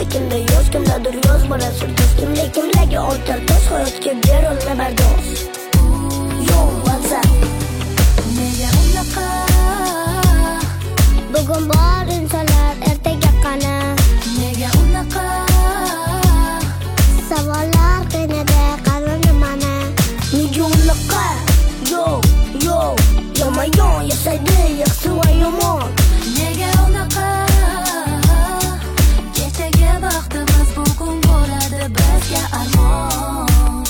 kimda yoz, kimdadir yoz bolasi do'st. Kimlarga ortar tosh, hayotga berolma bardosh. Yo, WhatsApp nega unaqa? Bugun bor insonlar ertaga qani? Nega unaqa? Savollar qiynada qalbimni mana. nega unaqa? Yo, yomon yashaydi yaxshi va yomon. Nega unaqa? Kechagi vaqtimiz bugun bo'ladi bizga armon.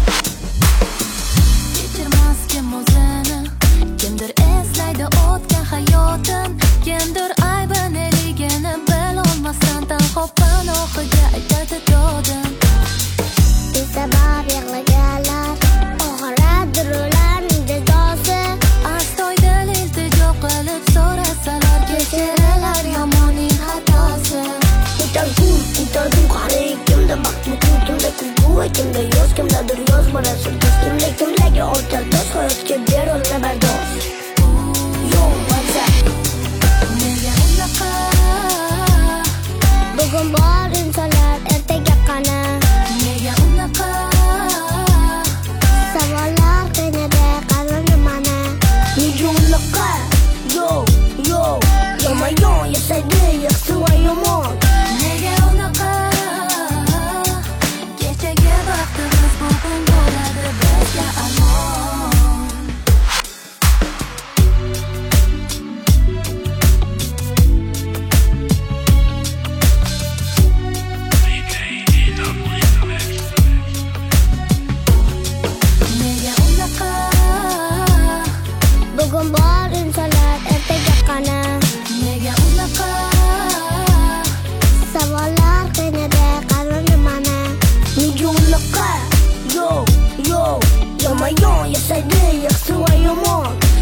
Kechirmas kim o'zini, kimdir eslaydi o'tgan hayotin, kimdir aybineligini bilolmasdan tanho panohiga aytadi dodin. Sabab yig'laganlar oxiradir ularning jazosi. Astoydil iltijo qilib so'rasalar kechiralar yomonning xatosi. Ko'tardim qari, kimda baxt bugun, kimda kulgu, kimda yoz, kimdadir yoz bolasi do'st. Kimlarga ortar tosh, hayotga berolma bardosh. Yo, WhatsApp Nega unaqa? Bugun bor insonlar ertaga qani? Nega unaqa? Savollar qiynada qalbimni mana. nega unaqa? Yo, yomon yashaydi yaxshi va yomon. Nega unaqa? Kechagi vaqtimiz bugun bo'ladi bizga armon. Nega unaqa? Bugun bor insonlar ertaga qani? Nega unaqa? Savollar qiynada qalbimni mana. nega unaqa? Yo, yomon yashaydi yaxshi va yomon.